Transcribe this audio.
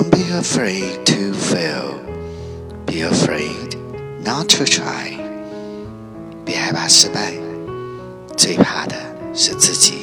Don't be afraid to fail. Be afraid not to try. 别害怕失败，最怕的是自己。